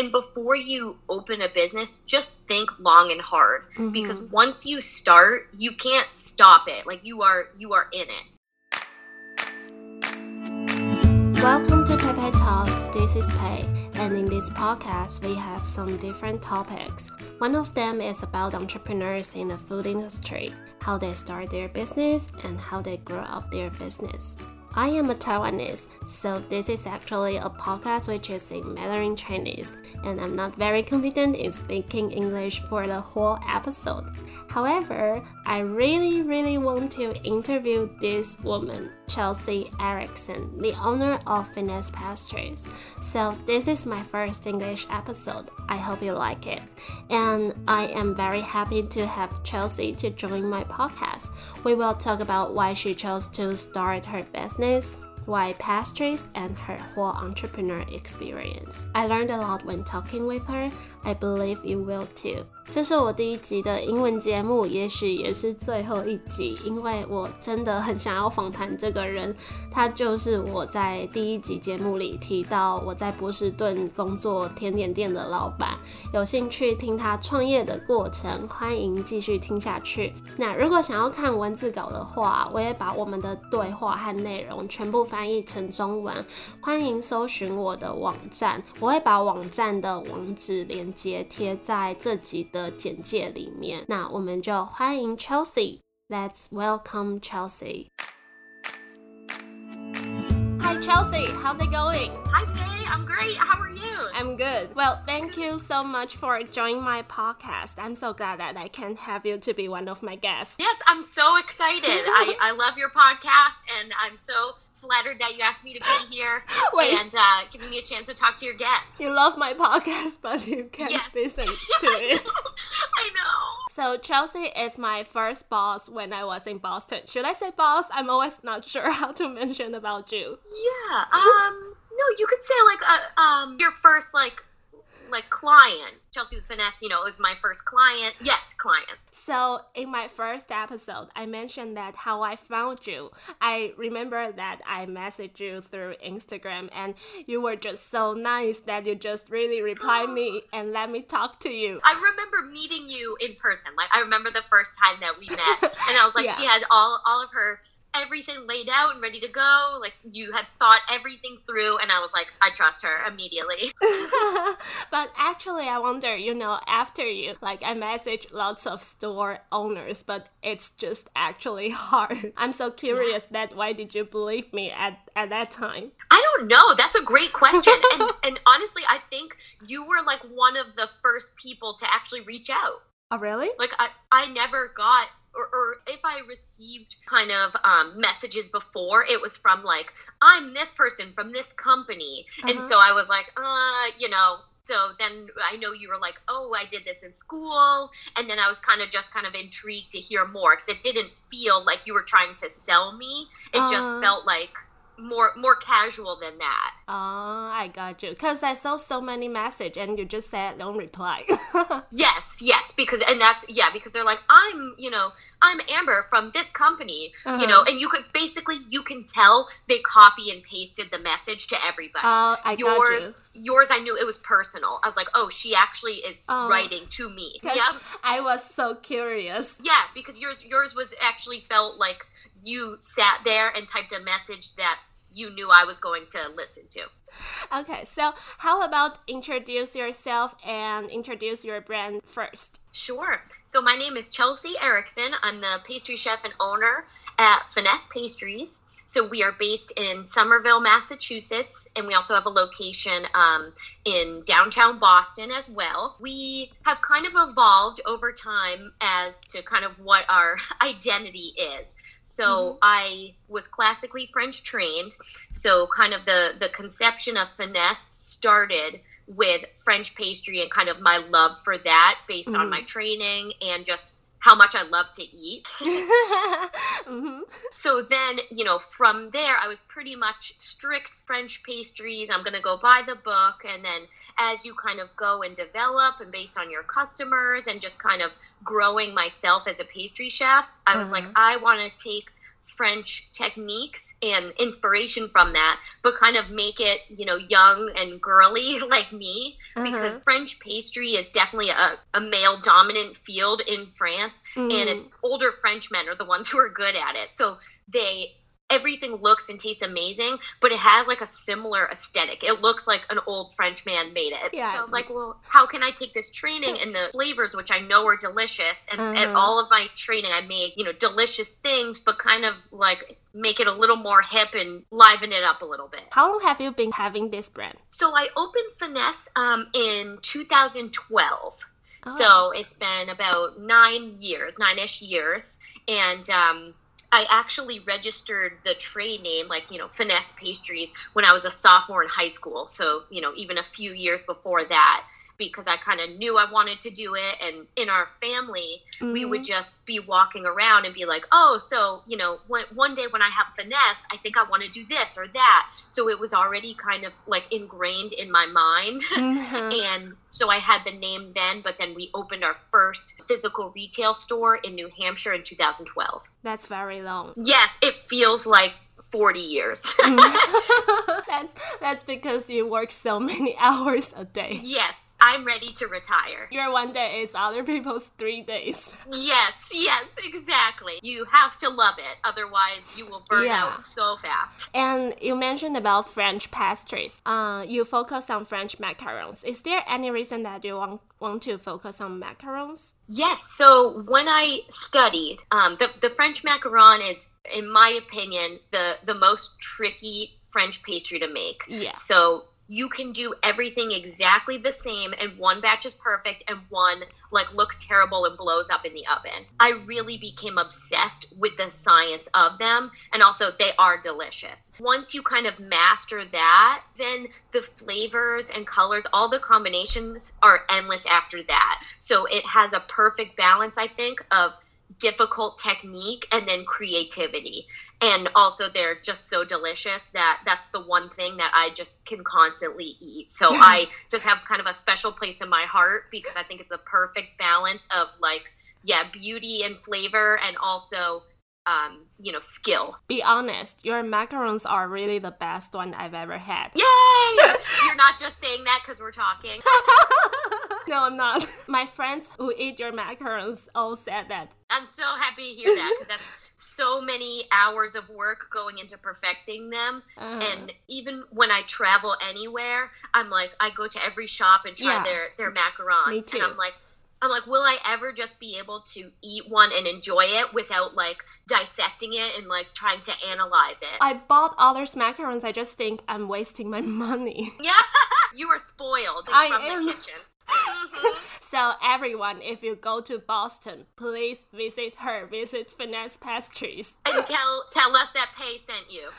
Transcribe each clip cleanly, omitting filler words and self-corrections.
And before you open a business, just think long and hard because once you start, you can't stop it. Like you are in it. Welcome to Pepe Talks. This is Pei, and in this podcast, we have some different topics. One of them is about entrepreneurs in the food industry, how they start their business, and how they grow up their business. I am a Taiwanese, so this is actually a podcast which is in Mandarin Chinese, and I'm not very confident in speaking English for the whole episode. However, I really want to interview this woman, Chelsea Erickson, the owner of Finesse Pastries. So this is my first English episode. I hope you like it. And I am very happy to have Chelsea to join my podcast. We will talk about why she chose to start her business, why pastries, and her whole entrepreneur experience. I learned a lot when talking with her. I believe you will too. 这是我第一集的英文节目，也许也是最后一集，因为我真的很想要访谈这个人。他就是我在第一集节目里提到我在波士顿工作甜点店的老板。有兴趣听他创业的过程，欢迎继续听下去。那如果想要看文字稿的话，我也把我们的对话和内容全部翻译成中文，欢迎搜寻我的网站，我会把网站的网址连结贴在这集的简介里面。那我们就欢迎 Chelsea。 Let's welcome Chelsea. Hi Chelsea, how's it going? Hi Faye, I'm great. How are you? I'm good. Well, thank you so much for joining my podcast. I'm so glad that I can have you to be one of my guests. Yes, I'm so excited. I love your podcast, and I'm so flattered that you asked me to be here and giving me a chance to talk to your guests. You love my podcast, but you can't listen to it. I know. So Chelsea is my first boss when I was in Boston. Should I say boss? I'm always not sure how to mention about you. Yeah. No, you could say your first client. Chelsea with Finesse, is my first client. Yes, client. So in my first episode, I mentioned that how I found you. I remember that I messaged you through Instagram, and you were just so nice that you just really replied me and let me talk to you. I remember meeting you in person. I remember the first time that we met, and I was like, She had all of her everything laid out and ready to go. Like, you had thought everything through, and I was like, I trust her immediately. But actually, I wonder, after you, I message lots of store owners, but it's just actually hard. I'm so curious that why did you believe me at that time? I don't know. That's a great question. and honestly, I think you were one of the first people to actually reach out. Oh, really? I never got, or if I received kind of messages before, it was from I'm this person from this company. And so I was so then I know you were like, oh, I did this in school. And then I was kind of intrigued to hear more, because it didn't feel like you were trying to sell me. It just felt like more casual than that. Oh, I got you. Because I saw so many messages and you just said don't reply. Yes, because they're like, I'm Amber from this company, and you can tell they copy and pasted the message to everybody. I got you. Yours, I knew it was personal. I was like, oh, she actually is writing to me. Yeah, I was so curious. Yeah, because yours was actually felt like you sat there and typed a message that you knew I was going to listen to. Okay, so how about introduce yourself and introduce your brand first? Sure. So my name is Chelsea Erickson. I'm the pastry chef and owner at Finesse Pastries. So we are based in Somerville, Massachusetts, and we also have a location in downtown Boston as well. We have kind of evolved over time as to kind of what our identity is. So I was classically French trained. So kind of the conception of Finesse started with French pastry and kind of my love for that based on my training and just how much I love to eat. So then, from there, I was pretty much strict French pastries. I'm going to go buy the book. And then as you kind of go and develop and based on your customers and just kind of growing myself as a pastry chef, I was like, I want to take French techniques and inspiration from that, but kind of make it, young and girly like me, because French pastry is definitely a male dominant field in France, and it's older Frenchmen are the ones who are good at it. So everything looks and tastes amazing, but it has like a similar aesthetic. It looks like an old French man made it. Yeah. So I was like, well, how can I take this training and the flavors, which I know are delicious, and at all of my training I made, delicious things, but kind of like make it a little more hip and liven it up a little bit. How long have you been having this brand? So I opened Finesse in 2012. Oh. So it's been about 9-ish years. And I actually registered the trade name, Finesse Pastries, when I was a sophomore in high school. So, even a few years before that, because I kind of knew I wanted to do it. And in our family, we would just be walking around and be like, oh, so, one day when I have Finesse, I think I want to do this or that. So it was already kind of like ingrained in my mind. And so I had the name then, but then we opened our first physical retail store in New Hampshire in 2012. That's very long. Yes, it feels like 40 years. That's because you work so many hours a day. Yes, I'm ready to retire. Your one day is other people's 3 days. Yes, exactly. You have to love it. Otherwise, you will burn out so fast. And you mentioned about French pastries. You focus on French macarons. Is there any reason that you want to focus on macarons? Yes. So when I studied, the French macaron is, in my opinion, the most tricky French pastry to make. Yeah. So you can do everything exactly the same, and one batch is perfect and one looks terrible and blows up in the oven. I really became obsessed with the science of them, and also they are delicious. Once you kind of master that, then the flavors and colors, all the combinations are endless after that. So it has a perfect balance, I think, of difficult technique and then creativity. And also they're just so delicious that's the one thing that I just can constantly eat. So I just have kind of a special place in my heart, because I think it's a perfect balance of beauty and flavor, and also skill. Be honest, your macarons are really the best one I've ever had. Yay! You're not just saying that because we're talking. No, I'm not. My friends who eat your macarons all said that. I'm so happy to hear that, because that's so many hours of work going into perfecting them. And even when I travel anywhere, I'm like, I go to every shop and try their macarons. Me too. And I'm like, will I ever just be able to eat one and enjoy it without dissecting it and trying to analyze it? I bought others macarons. I just think I'm wasting my money. Yeah, you were spoiled from the kitchen. So everyone, if you go to Boston, please visit Finesse Pastries. And tell us that Pei sent you.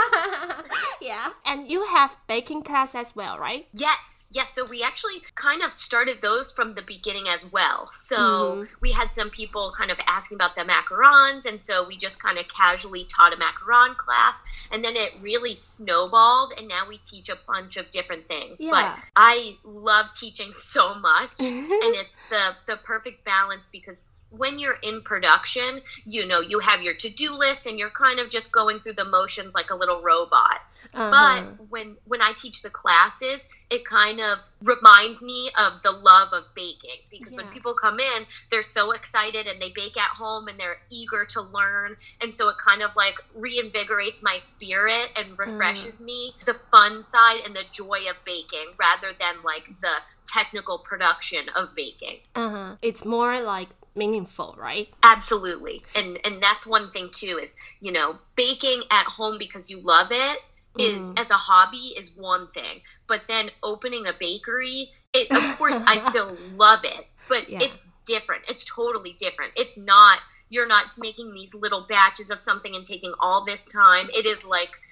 Yeah. And you have baking class as well, right? Yes, so we actually kind of started those from the beginning as well. So we had some people kind of asking about the macarons, and so we just kind of casually taught a macaron class, and then it really snowballed, and now we teach a bunch of different things. Yeah. But I love teaching so much, and it's the perfect balance, because when you're in production, you have your to-do list and you're kind of just going through the motions like a little robot. But when I teach the classes, it kind of reminds me of the love of baking, because when people come in, they're so excited and they bake at home and they're eager to learn. And so it kind of reinvigorates my spirit and refreshes me, the fun side and the joy of baking, rather than the technical production of baking. It's more meaningful, right? Absolutely. And that's one thing too, is baking at home because you love it is as a hobby is one thing, but then opening a bakery, of course I still love it, but it's different. It's totally different. It's not, you're not making these little batches of something and taking all this time. It is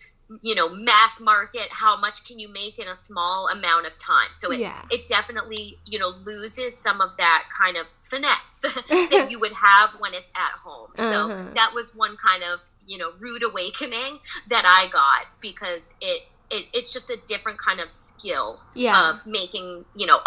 mass market, how much can you make in a small amount of time? So it definitely, loses some of that kind of finesse that you would have when it's at home. So that was one kind of, rude awakening that I got, because it's just a different kind of skill skill Yeah. of making,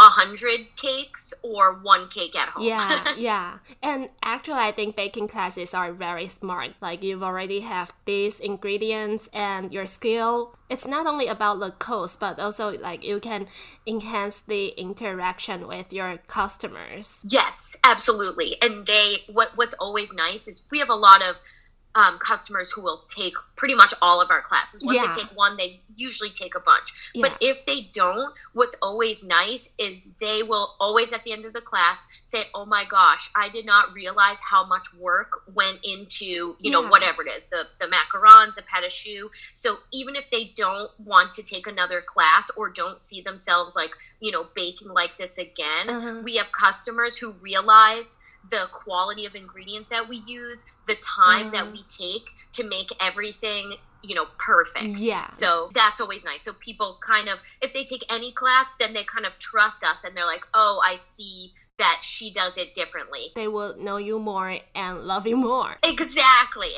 100 cakes or one cake at home. Yeah. And actually, I think baking classes are very smart. Like you've already have these ingredients and your skill. It's not only about the cost, but also like you can enhance the interaction with your customers. Yes, absolutely. And what's always nice is we have a lot of customers who will take pretty much all of our classes. Once they take one, they usually take a bunch. But if they don't, what's always nice is they will always at the end of the class say, oh my gosh, I did not realize how much work went into, whatever it is, the macarons, the pâte à choux. So even if they don't want to take another class or don't see themselves like, baking like this again, we have customers who realize the quality of ingredients that we use, the time that we take to make everything, perfect. Yeah. So that's always nice. So people kind of, if they take any class, then they kind of trust us and they're like, oh, I see that she does it differently. They will know you more and love you more. Exactly.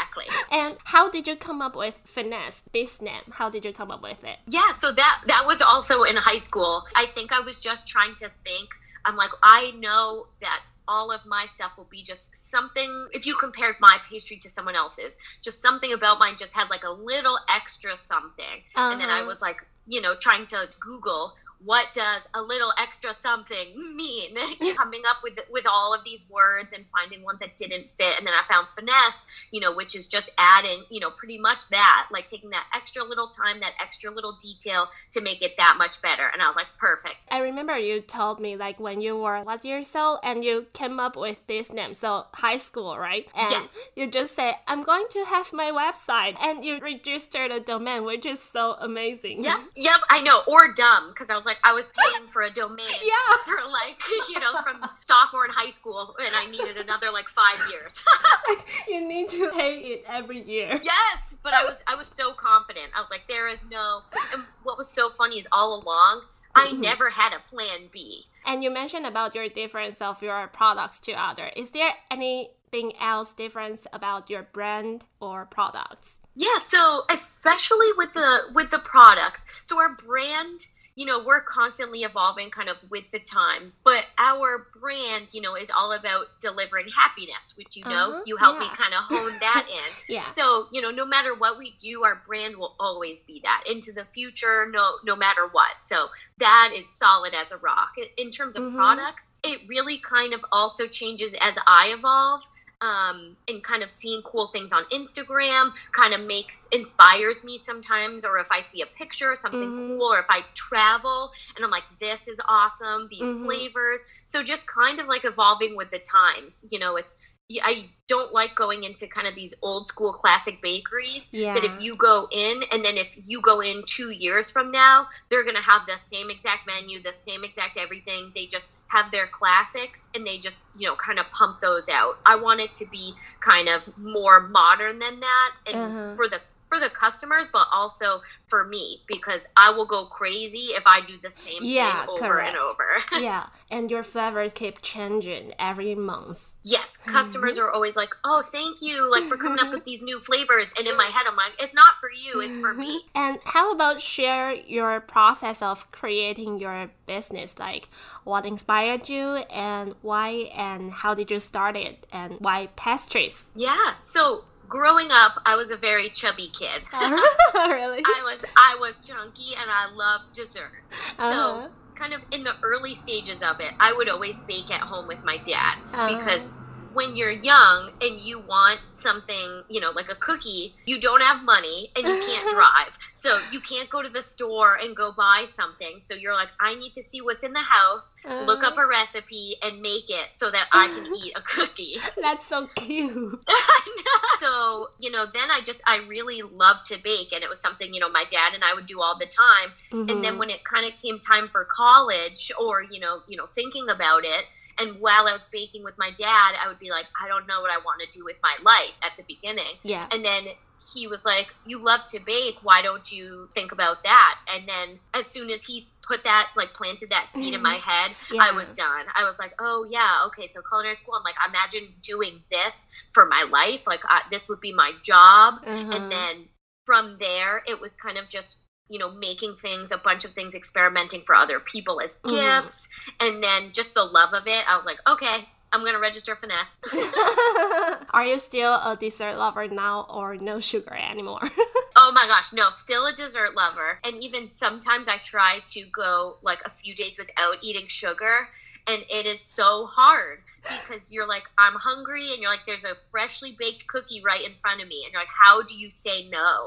And how did you come up with Finesse, this name? How did you come up with it? Yeah, so that was also in high school. I think I was just trying to think. I'm like, I know that all of my stuff will be just something, if you compared my pastry to someone else's, just something about mine just had like a little extra something. And then I was like, trying to Google, what does a little extra something mean? Coming up with all of these words and finding ones that didn't fit. And then I found finesse, which is just adding, pretty much that, like taking that extra little time, that extra little detail to make it that much better. And I was like, perfect. I remember you told me like when you were what years old and you came up with this name. So high school, right? And yes. You just say, I'm going to have my website. And you registered a domain, which is so amazing. Yep, I know. Or dumb, because I was like, I was paying for a domain for like, from sophomore in high school, and I needed another like 5 years. You need to pay it every year. Yes, but I was so confident. I was like, there is no. And what was so funny is all along, I never had a plan B. And you mentioned about your difference of your products to other. Is there anything else difference about your brand or products? Yeah, so especially with the products. So our brand, we're constantly evolving kind of with the times, but our brand, is all about delivering happiness, which, you helped me kind of hone that in. Yeah. So, no matter what we do, our brand will always be that into the future, no matter what. So that is solid as a rock. In terms of products, it really kind of also changes as I evolve. And kind of seeing cool things on Instagram kind of inspires me sometimes, or if I see a picture or something cool, or if I travel and I'm like, this is awesome, these flavors. So just kind of like evolving with the times, I don't like going into kind of these old school classic bakeries that if you go in and then if you go in 2 years from now, they're going to have the same exact menu, the same exact everything. They just have their classics and they just, kind of pump those out. I want it to be kind of more modern than that and for the customers, but also for me, because I will go crazy if I do the same thing over and over. Yeah, and your flavors keep changing every month. Yes, customers are always like, oh, thank you, like for coming up with these new flavors. And in my head, I'm like, it's not for you, it's for me. And how about share your process of creating your business? Like what inspired you and why, and how did you start it, and why pastries? Yeah, so growing up, I was a very chubby kid. Really? I was chunky and I loved dessert. So kind of in the early stages of it, I would always bake at home with my dad because when you're young and you want something, like a cookie, you don't have money and you can't drive. So you can't go to the store and go buy something. So you're like, I need to see what's in the house, look up a recipe and make it so that I can eat a cookie. That's so cute. So, then I really loved to bake, and it was something, my dad and I would do all the time. And then when it kind of came time for college or, thinking about it, and while I was baking with my dad, I would be like, I don't know what I want to do with my life at the beginning. Yeah. And then he was like, you love to bake. Why don't you think about that? And then as soon as he put that, like planted that seed in my head, I was done. I was like, oh yeah, okay. So culinary school, I'm like, imagine doing this for my life. Like this would be my job. And then from there, it was kind of just, making things, a bunch of things, experimenting for other people as gifts. And then just the love of it, I was like, okay, I'm going to register Finesse. Are you still a dessert lover now or no sugar anymore? Oh my gosh, no, still a dessert lover. And even sometimes I try to go like a few days without eating sugar. And it is so hard because you're like, I'm hungry. And you're like, there's a freshly baked cookie right in front of me. And you're like, how do you say no?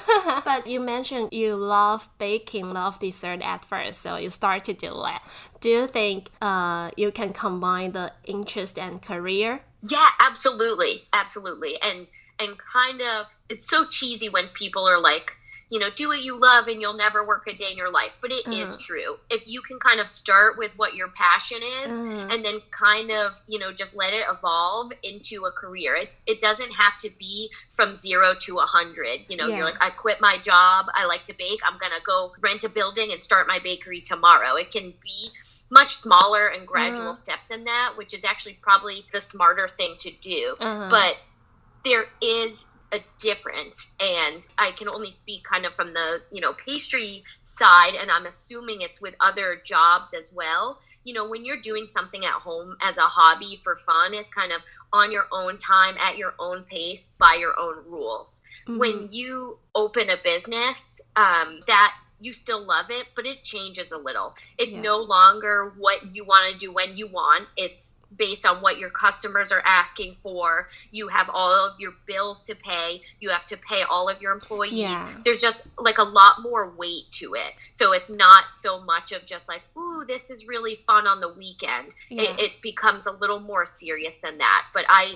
But you mentioned you love baking, love dessert at first. So you start to do that. Do you think you can combine the interest and career? Yeah, absolutely. Absolutely. And kind of, it's so cheesy when people are like, do what you love and you'll never work a day in your life. But it is true. If you can kind of start with what your passion is and then kind of, just let it evolve into a career. It doesn't have to be from 0 to 100. You're like, I quit my job. I like to bake. I'm going to go rent a building and start my bakery tomorrow. It can be much smaller and gradual steps in that, which is actually probably the smarter thing to do. But there is a difference, and I can only speak kind of from the pastry side, and I'm assuming it's with other jobs as well. When you're doing something at home as a hobby for fun, it's kind of on your own time, at your own pace, by your own rules. When you open a business, that you still love it, but it changes a little. It's no longer what you want to do when you want. It's based on what your customers are asking for. You have all of your bills to pay. You have to pay all of your employees. Yeah. There's just like a lot more weight to it. So it's not so much of just like, ooh, this is really fun on the weekend. Yeah. It becomes a little more serious than that. But I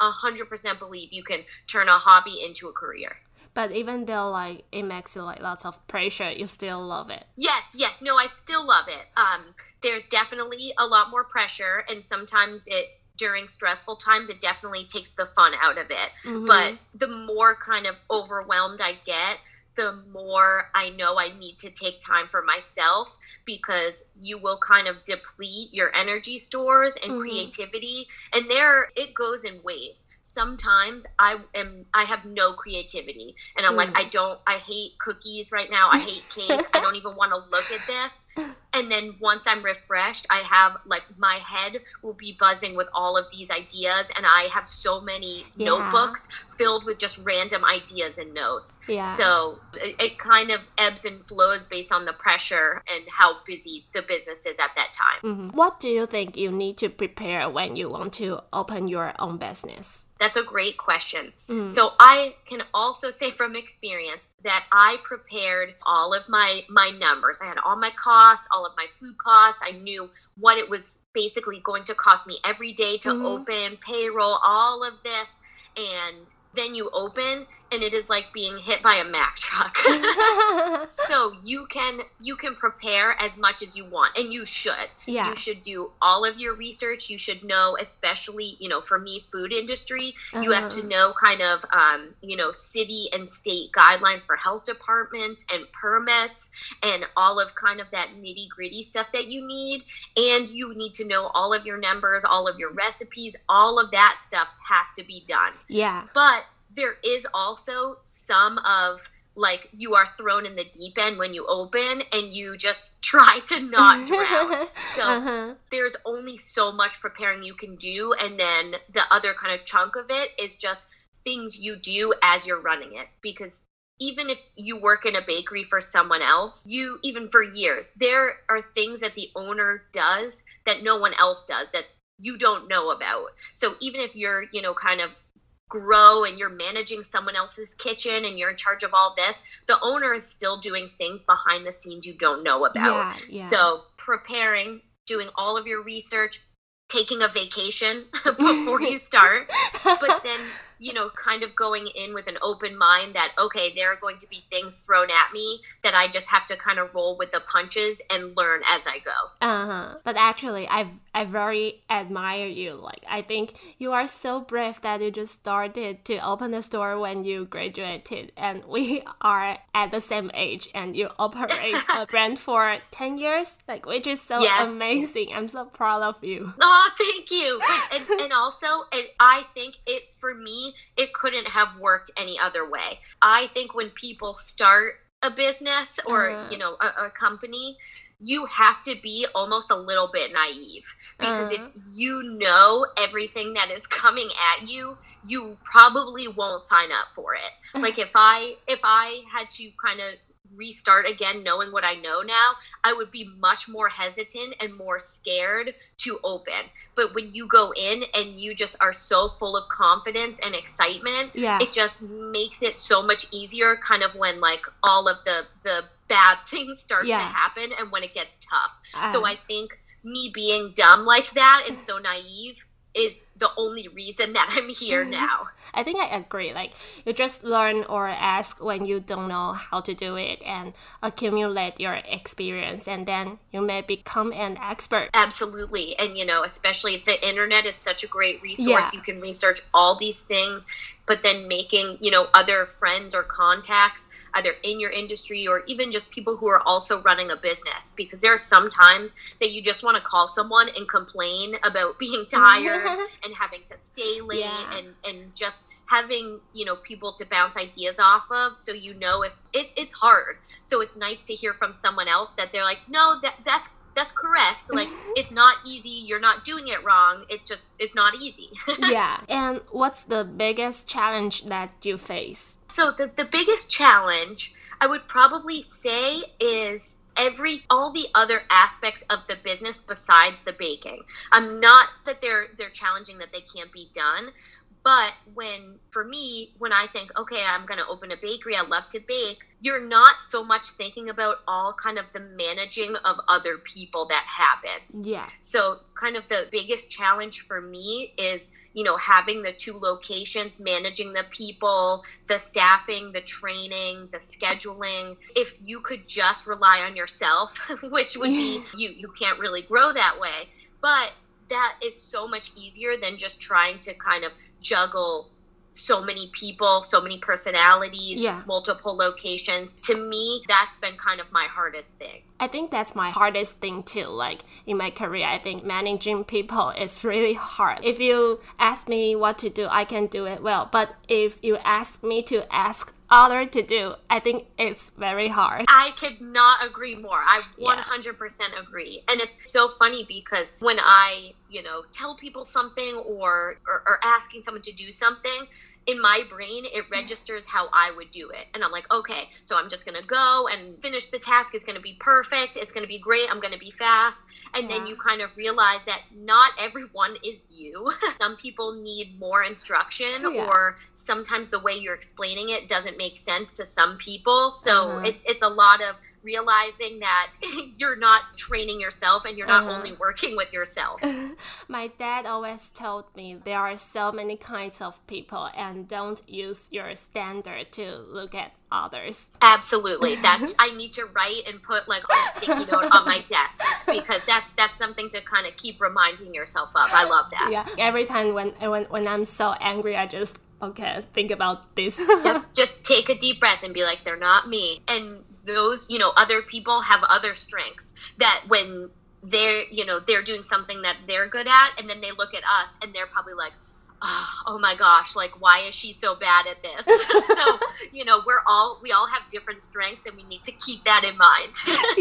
100% believe you can turn a hobby into a career. But even though like it makes you like lots of pressure, you still love it. Yes. No, I still love it. There's definitely a lot more pressure, and sometimes during stressful times, it definitely takes the fun out of it. But the more kind of overwhelmed I get, the more I know I need to take time for myself, because you will kind of deplete your energy stores and creativity. And it goes in waves. Sometimes I have no creativity, and I'm like, I hate cookies right now. I hate cake. I don't even want to look at this. And then once I'm refreshed, I have like my head will be buzzing with all of these ideas, and I have so many notebooks filled with just random ideas and notes. Yeah. So it kind of ebbs and flows based on the pressure and how busy the business is at that time. What do you think you need to prepare when you want to open your own business? That's a great question. So I can also say from experience that I prepared all of my numbers. I had all my costs, all of my food costs. I knew what it was basically going to cost me every day to open, payroll, all of this. And then you open, and it is like being hit by a Mack truck. So you can prepare as much as you want, and you should. Yeah. You should do all of your research. You should know, especially, for me, food industry, you have to know kind of, city and state guidelines for health departments and permits and all of kind of that nitty gritty stuff that you need. And you need to know all of your numbers, all of your recipes, all of that stuff has to be done. Yeah. But there is also some of like you are thrown in the deep end when you open, and you just try to not drown. So there's only so much preparing you can do. And then the other kind of chunk of it is just things you do as you're running it. Because even if you work in a bakery for someone else, even for years, there are things that the owner does that no one else does that you don't know about. So even if you're, kind of grow and you're managing someone else's kitchen and you're in charge of all this, the owner is still doing things behind the scenes you don't know about. Yeah. So preparing, doing all of your research, taking a vacation before you start, but then, kind of going in with an open mind that, okay, there are going to be things thrown at me that I just have to kind of roll with the punches and learn as I go. But actually, I very admire you. Like, I think you are so brave that you just started to open the store when you graduated, and we are at the same age, and you operate a brand for 10 years, like, which is so amazing. I'm so proud of you. Oh, thank you. And also, I think for me, it couldn't have worked any other way. I think when people start a business or, you know, a company, you have to be almost a little bit naive, because if you know everything that is coming at you, you probably won't sign up for it. Like if I had to kind of restart again knowing what I know now, I would be much more hesitant and more scared to open. But when you go in and you just are so full of confidence and excitement, it just makes it so much easier kind of when like all of the bad things start to happen and when it gets tough. So I think me being dumb like that and so naive is the only reason that I'm here now. I think I agree. Like you just learn or ask when you don't know how to do it and accumulate your experience, and then you may become an expert. Absolutely. And you know, especially the internet is such a great resource. You can research all these things, but then making, you know, other friends or contacts either in your industry or even just people who are also running a business, because there are some times that you just want to call someone and complain about being tired and having to stay late and just having, you know, people to bounce ideas off of. So, you know, if it's hard. So it's nice to hear from someone else that they're like, no, that's correct. Like, it's not easy. You're not doing it wrong. It's not easy. And what's the biggest challenge that you face? So the biggest challenge I would probably say is all the other aspects of the business besides the baking. Not that they're challenging, that they can't be done, but for me, when I think, okay, I'm going to open a bakery, I love to bake, you're not so much thinking about all kind of the managing of other people that happens. So kind of the biggest challenge for me is, you know, having the 2 locations, managing the people, the staffing, the training, the scheduling. If you could just rely on yourself, which would be, you can't really grow that way, but that is so much easier than just trying to kind of juggle so many people, so many personalities, multiple locations. To me, that's been kind of my hardest thing. I think that's my hardest thing too. Like in my career, I think managing people is really hard. If you ask me what to do, I can do it well. But if you ask me to ask others to do, I think it's very hard. I could not agree more. I 100% agree. And it's so funny because when I, you know, tell people something or asking someone to do something, in my brain, it registers how I would do it. And I'm like, okay, so I'm just going to go and finish the task. It's going to be perfect. It's going to be great. I'm going to be fast. And then you kind of realize that not everyone is you. Some people need more instruction or sometimes the way you're explaining it doesn't make sense to some people. So it's a lot of realizing that you're not training yourself and you're not only working with yourself. My dad always told me there are so many kinds of people and don't use your standard to look at others. Absolutely. I need to write and put like on a sticky note on my desk, because that's something to kind of keep reminding yourself of. I love that. Yeah. Every time when I'm so angry, I just think about this. Just take a deep breath and be like, they're not me. And those, you know, other people have other strengths that when they're, you know, they're doing something that they're good at, and then they look at us and they're probably like, oh my gosh, like, why is she so bad at this? So, you know, we all have different strengths and we need to keep that in mind.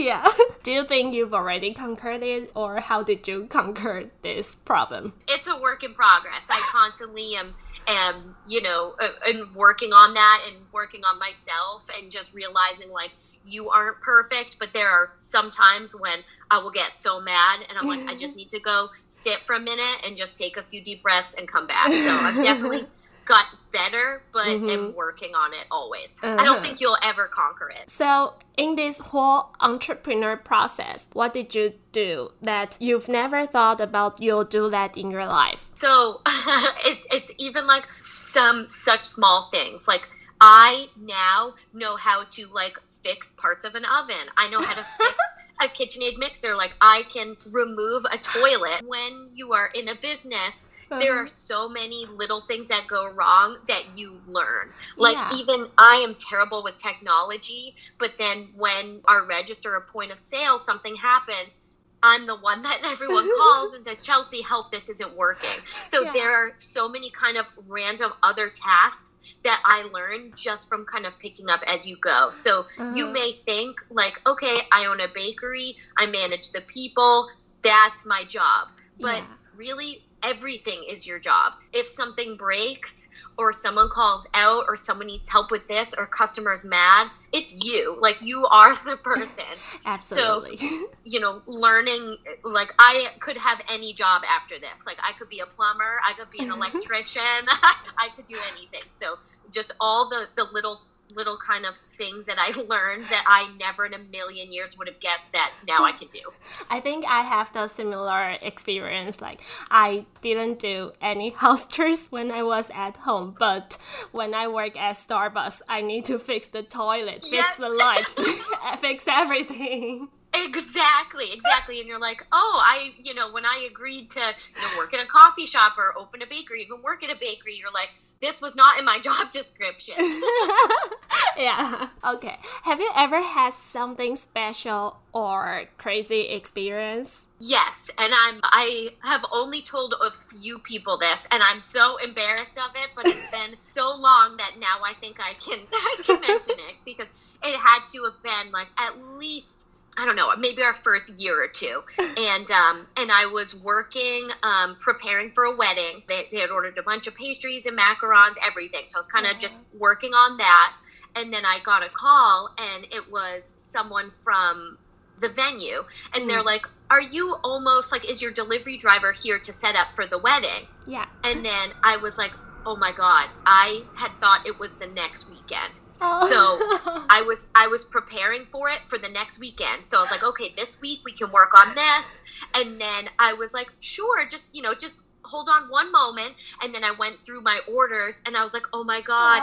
Do you think you've already conquered it, or how did you conquer this problem? It's a work in progress. I constantly am you know, and working on that and working on myself and just realizing like, you aren't perfect, but there are some times when I will get so mad and I'm like, I just need to go sit for a minute and just take a few deep breaths and come back. So I've definitely got better, but am working on it always. I don't think you'll ever conquer it. So in this whole entrepreneur process, what did you do that you've never thought about you'll do that in your life? So it's even like some such small things. Like I now know how to like fix parts of an oven. I know how to fix a KitchenAid mixer. Like I can remove a toilet. When you are in a business, there are so many little things that go wrong that you learn. Like even I am terrible with technology, but then when our register or point of sale, something happens, I'm the one that everyone calls and says, Chelsea, help, this isn't working. So there are so many kind of random other tasks that I learned just from kind of picking up as you go. So you may think like, okay, I own a bakery, I manage the people, that's my job. But really, everything is your job. If something breaks or someone calls out or someone needs help with this or customer's mad, it's you. Like, you are the person. Absolutely. So, learning, like, I could have any job after this. Like, I could be a plumber, I could be an electrician, I could do anything. So just all the little kind of things that I learned that I never in a million years would have guessed that now I can do. I think I have the similar experience. Like, I didn't do any house chores when I was at home, but when I work at Starbucks, I need to fix the toilet, fix the light, fix everything. Exactly. And you're like, when I agreed to work in a coffee shop or open a bakery, even work at a bakery, you're like, this was not in my job description. Yeah. Okay. Have you ever had something special or crazy experience? Yes, and I have only told a few people this, and I'm so embarrassed of it, but it's been so long that now I think I can mention it, because it had to have been like at least, I don't know, maybe our first year or two. And I was working, preparing for a wedding. They had ordered a bunch of pastries and macarons, everything. So I was kind of just working on that. And then I got a call, and it was someone from the venue. And they're like, are you almost like, is your delivery driver here to set up for the wedding? Yeah. And then I was like, oh my God, I had thought it was the next weekend. Oh. So I was preparing for it for the next weekend. So I was like, okay, this week we can work on this. And then I was like, sure, just hold on one moment. And then I went through my orders, and I was like, oh my God,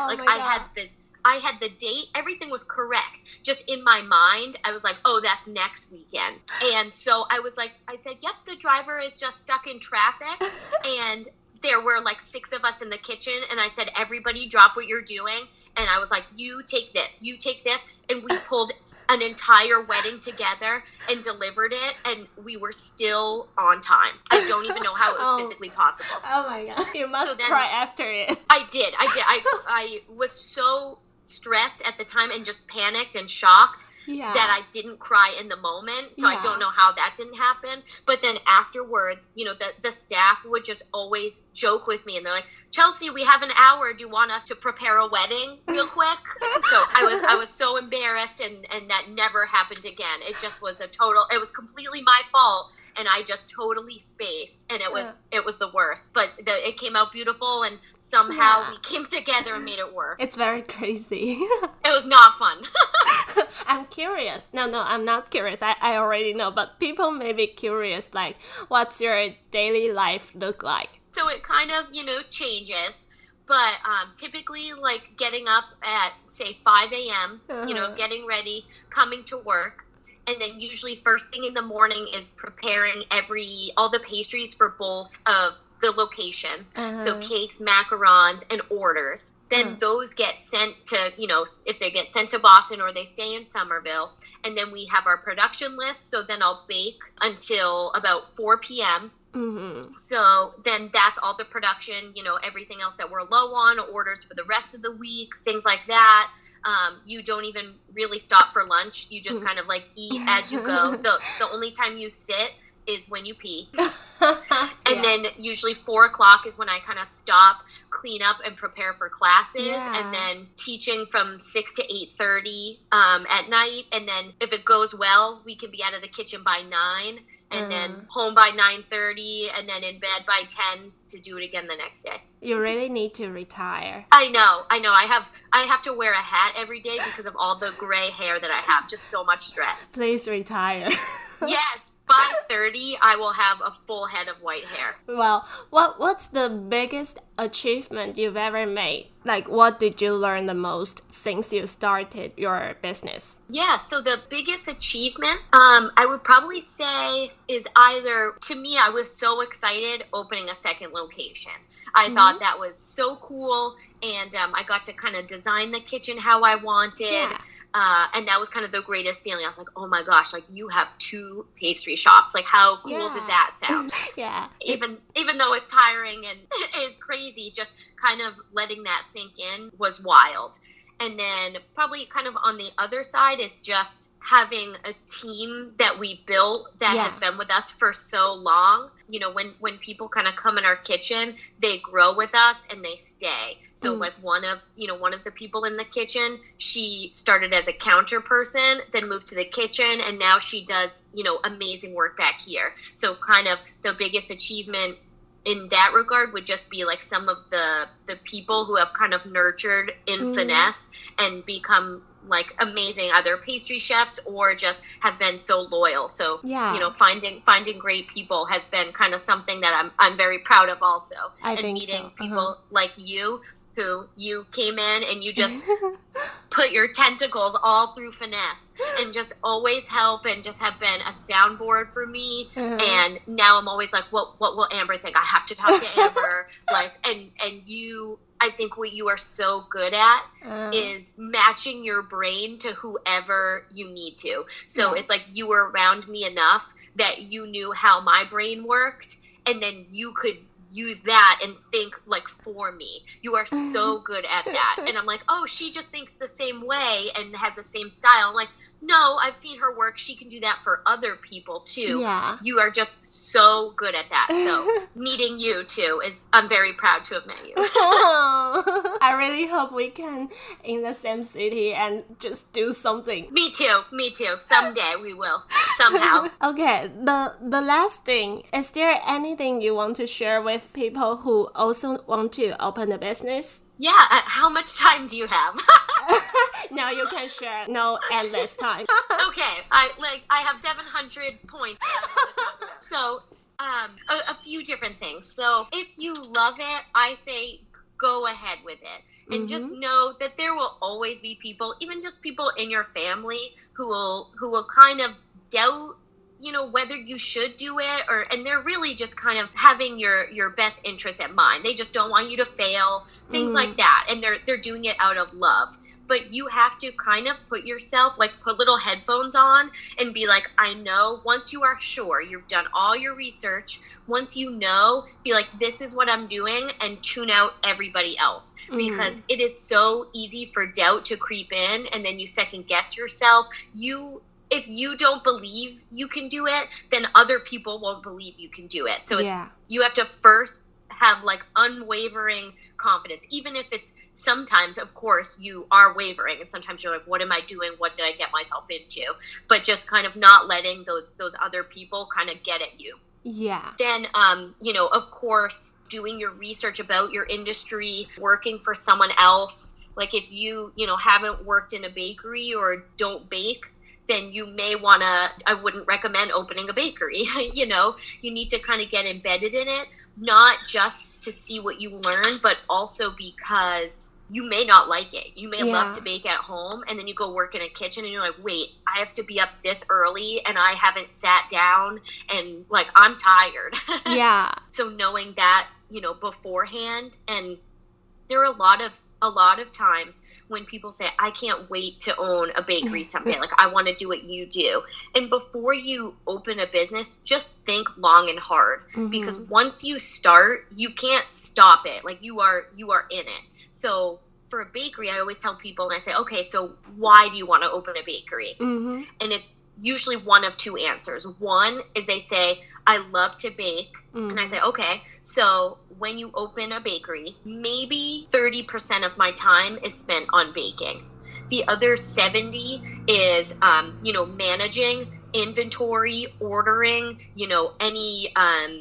I had the date, everything was correct. Just in my mind, I was like, oh, that's next weekend. And so I said, yep, the driver is just stuck in traffic. And there were like 6 of us in the kitchen, and I said, everybody drop what you're doing. And I was like, you take this. And we pulled an entire wedding together and delivered it, and we were still on time. I don't even know how it was physically possible. Oh my God. You must cry after it. I did. I was so stressed at the time and just panicked and shocked that I didn't cry in the moment. So I don't know how that didn't happen. But then afterwards, the staff would just always joke with me, and they're like, Chelsea, we have an hour. Do you want us to prepare a wedding real quick? So I was so embarrassed, and that never happened again. It just was it was completely my fault. And I just totally spaced, and it was the worst. But it came out beautiful, and somehow we came together and made it work. It's very crazy. It was not fun. I'm curious. No, I'm not curious. I already know, but people may be curious, like, what's your daily life look like? So it kind of, changes. But typically, like, getting up at, say, 5 a.m., getting ready, coming to work. And then usually first thing in the morning is preparing all the pastries for both of the locations. So cakes, macarons, and orders. Then those get sent to, if they get sent to Boston or they stay in Somerville. And then we have our production list. So then I'll bake until about 4 p.m. So then that's all the production, everything else that we're low on, orders for the rest of the week, things like that. You don't even really stop for lunch. You just kind of like eat as you go. The only time you sit is when you pee. And then usually 4 o'clock is when I kind of stop, clean up, and prepare for classes. And then teaching from 6 to 8:30 at night. And then if it goes well, we can be out of the kitchen by 9. And then home by 9:30, and then in bed by 10 to do it again the next day. You really need to retire. I know. I have to wear a hat every day because of all the gray hair that I have. Just so much stress. Please retire. Yes. By 30, I will have a full head of white hair. Well, what's the biggest achievement you've ever made? Like, what did you learn the most since you started your business? Yeah, so the biggest achievement, I would probably say is either, to me, I was so excited opening a second location. I thought that was so cool, and I got to kind of design the kitchen how I wanted. And that was kind of the greatest feeling. I was like, oh my gosh, like you have 2 pastry shops. Like how cool does that sound? Yeah. Even though it's tiring and it's crazy, just kind of letting that sink in was wild. And then probably kind of on the other side is just having a team that we built that has been with us for so long. You know, when people kind of come in our kitchen, they grow with us and they stay. So like one of the people in the kitchen, she started as a counter person, then moved to the kitchen, and now she does, amazing work back here. So kind of the biggest achievement in that regard would just be like some of the people who have kind of nurtured in Finesse and become like amazing either pastry chefs or just have been so loyal. So finding great people has been kind of something that I'm very proud of also. And meeting people like you, who you came in and you just put your tentacles all through Finesse and just always help and just have been a soundboard for me. And now I'm always like, what will Amber think? I have to talk to Amber. Like, and you, I think what you are so good at is matching your brain to whoever you need to. So it's like you were around me enough that you knew how my brain worked, and then you could use that and think like for me. You are so good at that. And I'm like, oh, she just thinks the same way and has the same style. I'm like, no, I've seen her work. She can do that for other people too. Yeah. You are just so good at that. So meeting you too I'm very proud to have met you. I really hope we can in the same city and just do something. Me too. Someday we will. Somehow. Okay, the last thing, is there anything you want to share with people who also want to open a business? Yeah, how much time do you have? Now you can share. No endless time. Okay, I have 700 points. So, a few different things. So, if you love it, I say go ahead with it, and just know that there will always be people, even just people in your family, who will kind of doubt, whether you should do it, and they're really just kind of having your best interest at mind. They just don't want you to fail, things like that. And they're doing it out of love. But you have to kind of put little headphones on and be like, I know, once you are sure, you've done all your research, once you know, be like, this is what I'm doing, and tune out everybody else. Because it is so easy for doubt to creep in, and then you second guess yourself. If you don't believe you can do it, then other people won't believe you can do it. So you have to first have like unwavering confidence, even if it's sometimes, of course, you are wavering, and sometimes you're like, what am I doing? What did I get myself into? But just kind of not letting those other people kind of get at you. Yeah. Then, of course, doing your research about your industry, working for someone else. Like if you, haven't worked in a bakery or don't bake, then you may want to, I wouldn't recommend opening a bakery. You need to kind of get embedded in it, not just to see what you learn, but also because you may not like it. You may love to bake at home, and then you go work in a kitchen and you're like, wait, I have to be up this early and I haven't sat down and like, I'm tired. Yeah. So knowing that, beforehand, and there are a lot of times when people say, I can't wait to own a bakery someday. Like, I want to do what you do. And before you open a business, just think long and hard. Because once you start, you can't stop it. Like, you are in it. So for a bakery, I always tell people, and I say, okay, so why do you want to open a bakery? And it's usually one of two answers. One is they say, I love to bake. And I say, okay, so when you open a bakery, maybe 30% of my time is spent on baking. The other 70 is, managing inventory, ordering, any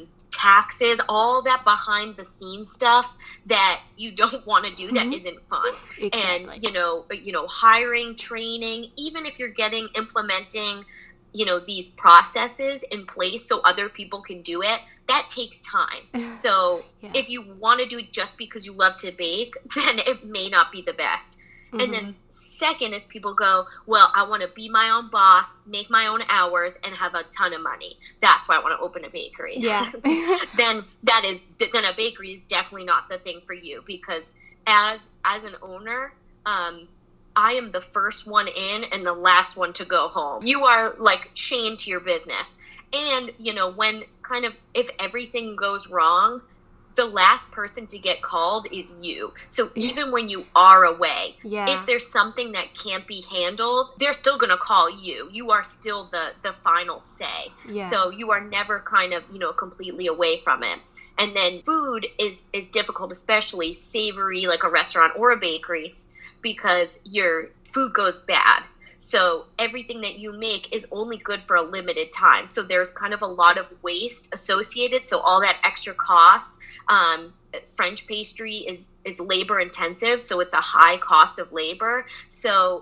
taxes, all that behind the scenes stuff that you don't want to do that isn't fun. Exactly. And, hiring, training, even if you're implementing, these processes in place so other people can do it, that takes time. So if you want to do it just because you love to bake, then it may not be the best. And then second is people go, well, I want to be my own boss, make my own hours, and have a ton of money. That's why I want to open a bakery. Yeah. Then a bakery is definitely not the thing for you, because as an owner, I am the first one in and the last one to go home. You are like chained to your business. And, you know, when kind of, if everything goes wrong, the last person to get called is you. So even when you are away, if there's something that can't be handled, they're still going to call you. You are still the final say. So you are never kind of, you know, completely away from it. And then food is difficult, especially savory, like a restaurant or a bakery, because your food goes bad. So everything that you make is only good for a limited time. So there's kind of a lot of waste associated. So all that extra cost, French pastry is labor intensive. So it's a high cost of labor. So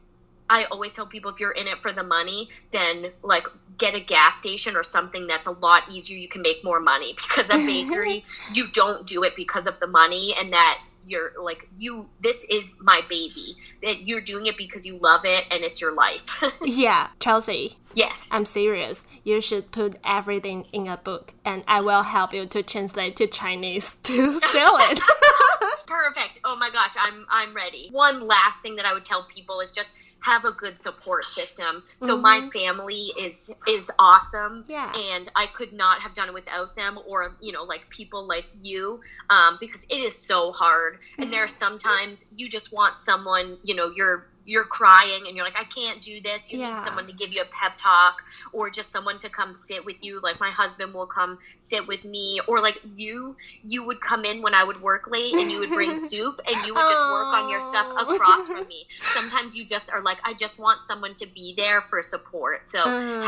I always tell people, if you're in it for the money, then like get a gas station or something that's a lot easier. You can make more money, because a bakery, you don't do it because of the money, and that you're like, this is my baby, that you're doing it because you love it and it's your life. Yeah, Chelsea. Yes. I'm serious. You should put everything in a book, and I will help you to translate to Chinese to sell it. Perfect. Oh my gosh, I'm ready. One last thing that I would tell people is just have a good support system. So my family is awesome, and I could not have done it without them, or, you know, like people like you, because it is so hard. And there are sometimes you just want someone, you know, you're crying and you're like, I can't do this. You need someone to give you a pep talk, or just someone to come sit with you. Like my husband will come sit with me, or like you would come in when I would work late and you would bring soup and you would just work on your stuff across from me. Sometimes you just are like, I just want someone to be there for support. So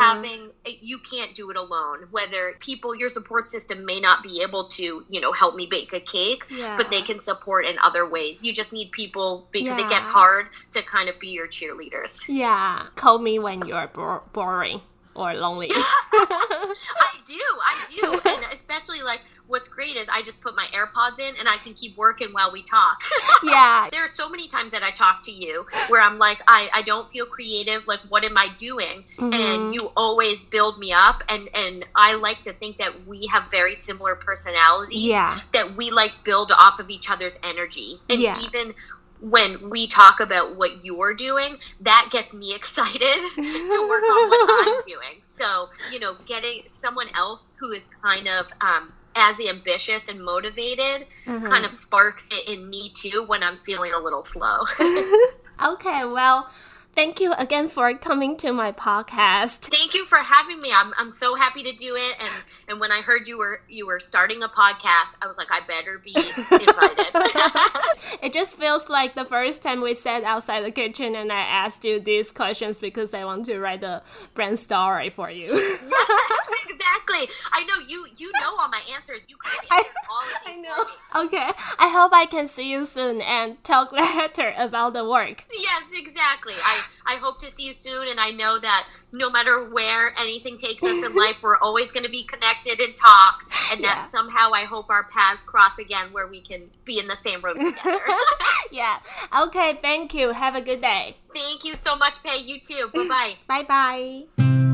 you can't do it alone. Whether your support system may not be able to, you know, help me bake a cake, but they can support in other ways. You just need people, because it gets hard to kind of be your cheerleaders. Yeah. Call me when you're boring or lonely. I do. And especially like, what's great is I just put my AirPods in and I can keep working while we talk. Yeah. There are so many times that I talk to you where I'm like, I don't feel creative. Like, what am I doing? And you always build me up. And I like to think that we have very similar personalities. Yeah. That we like build off of each other's energy. And even when we talk about what you're doing, that gets me excited to work on what I'm doing. So, you know, getting someone else who is kind of as ambitious and motivated kind of sparks it in me too when I'm feeling a little slow. Okay, well, thank you again for coming to my podcast. Thank you for having me. I'm so happy to do it. And when I heard you were starting a podcast, I was like, I better be invited. It just feels like the first time we sat outside the kitchen and I asked you these questions because I want to write a brand story for you. Yes, exactly. I know you know all my answers. You can answer all of these. I know. Okay. I hope I can see you soon and talk later about the work. Yes, exactly. I hope to see you soon, and I know that no matter where anything takes us in life, we're always going to be connected and talk, and that somehow I hope our paths cross again where we can be in the same room together. Yeah. Okay, thank you. Have a good day. Thank you so much, Pei. You too. Bye-bye. Bye-bye.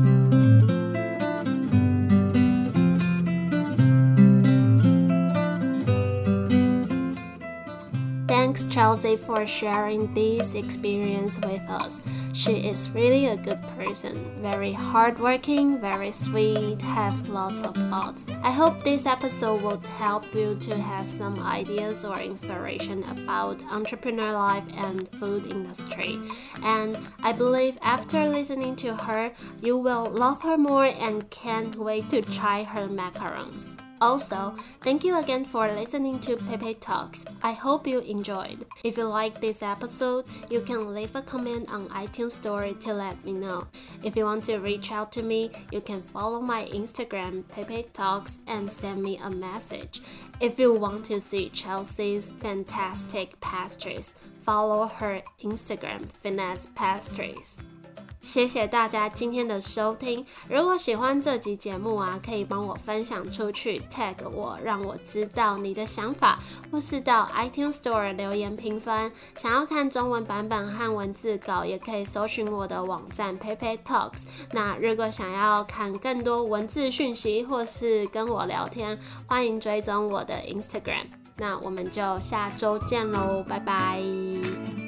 Thanks, Chelsea, for sharing this experience with us. She is really a good person, very hardworking, very sweet, have lots of thoughts. I hope this episode will help you to have some ideas or inspiration about entrepreneur life and food industry. And I believe after listening to her, you will love her more and can't wait to try her macarons. Also, thank you again for listening to Pepe Talks. I hope you enjoyed. If you like this episode, you can leave a comment on iTunes Store to let me know. If you want to reach out to me, you can follow my Instagram, Pepe Talks, and send me a message. If you want to see Chelsea's fantastic pastries, follow her Instagram, Finesse Pastries. 谢谢大家今天的收听。如果喜欢这集节目啊，可以帮我分享出去 ，tag 我，让我知道你的想法，或是到 iTunes Store 留言评分。想要看中文版本和文字稿，也可以搜寻我的网站 Pepe Talks。那如果想要看更多文字讯息，或是跟我聊天，欢迎追踪我的 Instagram。那我们就下周见喽，拜拜。